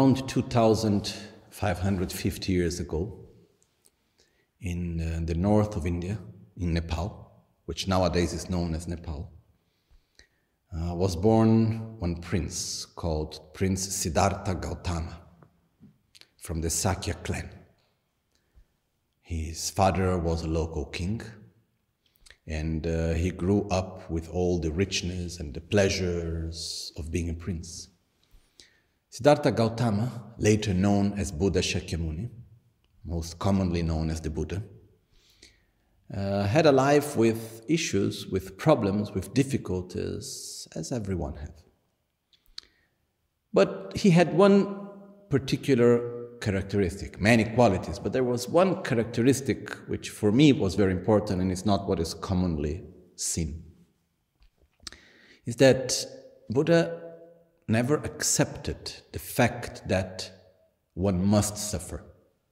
around 2,550 years ago, in the north of India, in Nepal, which nowadays is known as Nepal, was born one prince called Prince Siddhartha Gautama from the Sakya clan. His father was a local king, and he grew up with all the richness and the pleasures of being a prince. Siddhartha Gautama, later known as Buddha Shakyamuni, most commonly known as the Buddha, had a life with issues, with problems, with difficulties, as everyone had. But he had one particular characteristic, many qualities, but there was one characteristic which for me was very important, and it's not what is commonly seen, is that Buddha never accepted the fact that one must suffer.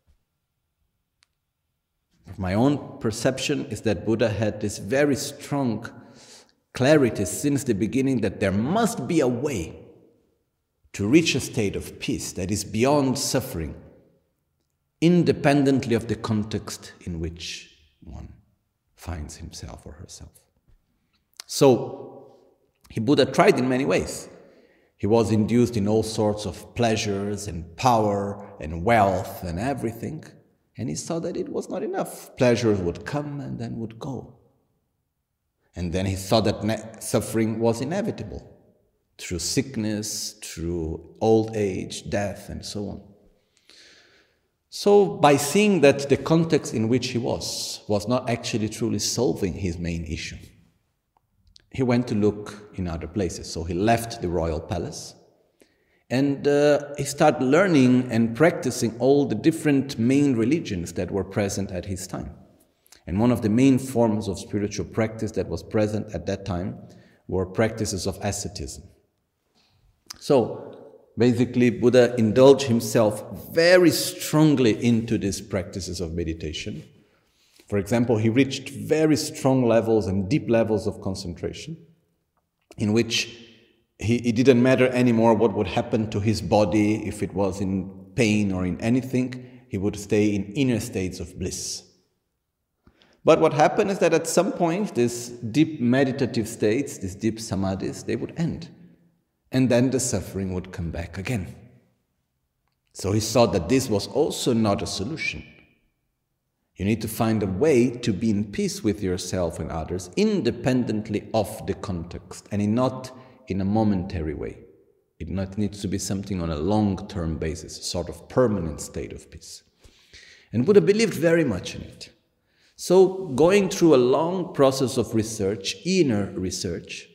My own perception is that Buddha had this very strong clarity since the beginning that there must be a way to reach a state of peace that is beyond suffering, independently of the context in which one finds himself or herself. So, Buddha tried in many ways. He was induced in all sorts of pleasures and power and wealth and everything, and he saw that it was not enough. Pleasures would come and then would go. And then he saw that suffering was inevitable, through sickness, through old age, death, and so on. So by seeing that the context in which he was not actually truly solving his main issue, he went to look in other places. So he left the royal palace, and he started learning and practicing all the different main religions that were present at his time. And one of the main forms of spiritual practice that was present at that time were practices of asceticism. So basically, Buddha indulged himself very strongly into these practices of meditation. For example, he reached very strong levels and deep levels of concentration, in which it didn't matter anymore what would happen to his body, if it was in pain or in anything, he would stay in inner states of bliss. But what happened is that at some point, these deep meditative states, these deep samadhis, they would end. And then the suffering would come back again. So he saw that this was also not a solution. You need to find a way to be in peace with yourself and others, independently of the context, and not in a momentary way. It needs to be something on a long-term basis, a sort of permanent state of peace. And Buddha believed very much in it. So going through a long process of research, inner research,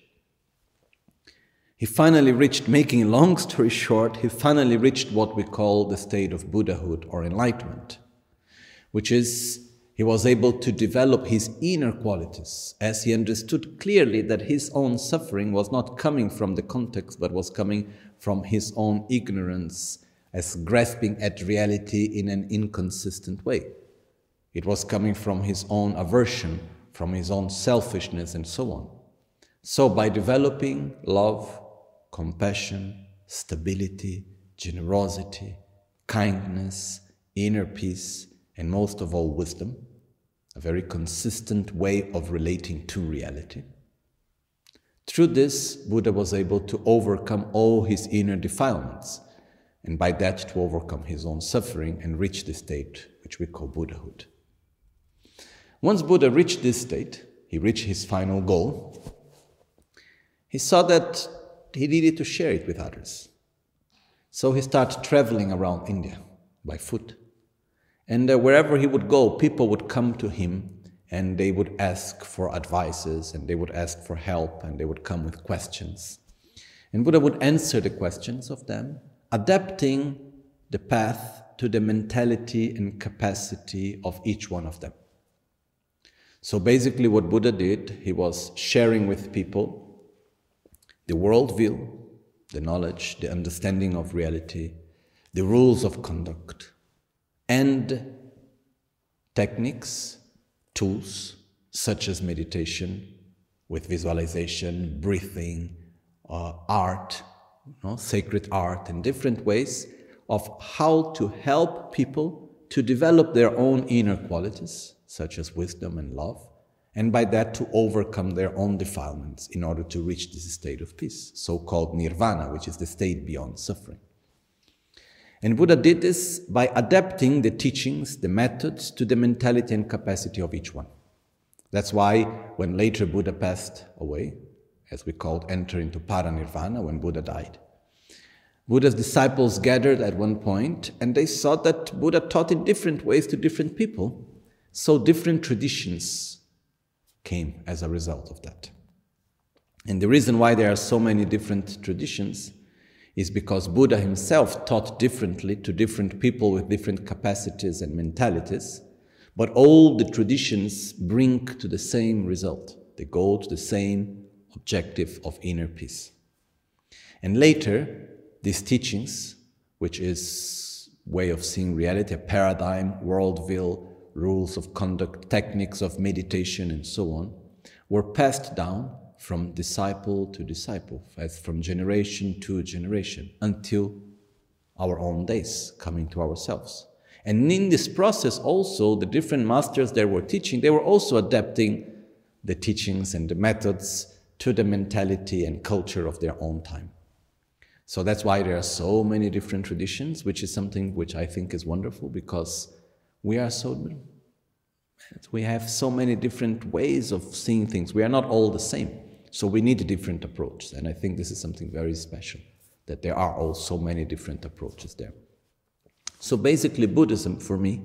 he finally reached, making a long story short, he finally reached what we call the state of Buddhahood or enlightenment, which is he was able to develop his inner qualities as he understood clearly that his own suffering was not coming from the context, but was coming from his own ignorance as grasping at reality in an inconsistent way. It was coming from his own aversion, from his own selfishness, and so on. So by developing love, compassion, stability, generosity, kindness, inner peace, and most of all wisdom, a very consistent way of relating to reality. Through this, Buddha was able to overcome all his inner defilements, and by that to overcome his own suffering and reach the state which we call Buddhahood. Once Buddha reached this state, he reached his final goal, he saw that he needed to share it with others. So he started traveling around India by foot. And wherever he would go, people would come to him and they would ask for advices and they would ask for help and they would come with questions. And Buddha would answer the questions of them, adapting the path to the mentality and capacity of each one of them. So basically what Buddha did, he was sharing with people the worldview, the knowledge, the understanding of reality, the rules of conduct, and techniques, tools, such as meditation, with visualization, breathing, art, sacred art, in different ways of how to help people to develop their own inner qualities, such as wisdom and love, and by that to overcome their own defilements in order to reach this state of peace, so-called nirvana, which is the state beyond suffering. And Buddha did this by adapting the teachings, the methods, to the mentality and capacity of each one. That's why when later Buddha passed away, as we called enter into paranirvana, when Buddha died, Buddha's disciples gathered at one point and they saw that Buddha taught in different ways to different people, so different traditions came as a result of that. And the reason why there are so many different traditions is because Buddha himself taught differently to different people with different capacities and mentalities, but all the traditions bring to the same result. They go to the same objective of inner peace. And later, these teachings, which is way of seeing reality, a paradigm, worldview, rules of conduct, techniques of meditation, and so on, were passed down from disciple to disciple, as from generation to generation, until our own days, coming to ourselves. And in this process also, the different masters that were teaching, they were also adapting the teachings and the methods to the mentality and culture of their own time. So that's why there are so many different traditions, which is something which I think is wonderful, because we have so many different ways of seeing things. We are not all the same. So we need a different approach. And I think this is something very special, that there are all so many different approaches there. So basically Buddhism, for me,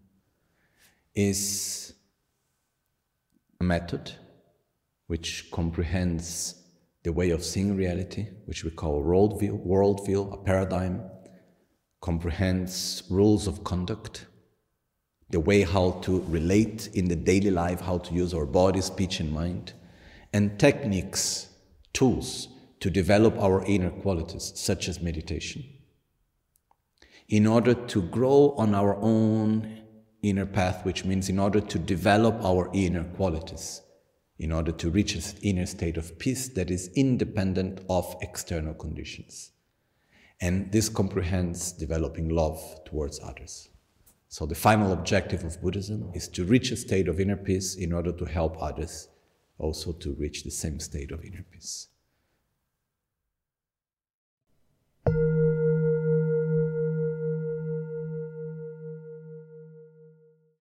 is a method which comprehends the way of seeing reality, which we call a worldview, a paradigm, comprehends rules of conduct, the way how to relate in the daily life, how to use our body, speech, and mind, and techniques, tools to develop our inner qualities, such as meditation, in order to grow on our own inner path, which means in order to develop our inner qualities, in order to reach an inner state of peace that is independent of external conditions. And this comprehends developing love towards others. So the final objective of Buddhism is to reach a state of inner peace in order to help others also to reach the same state of inner peace.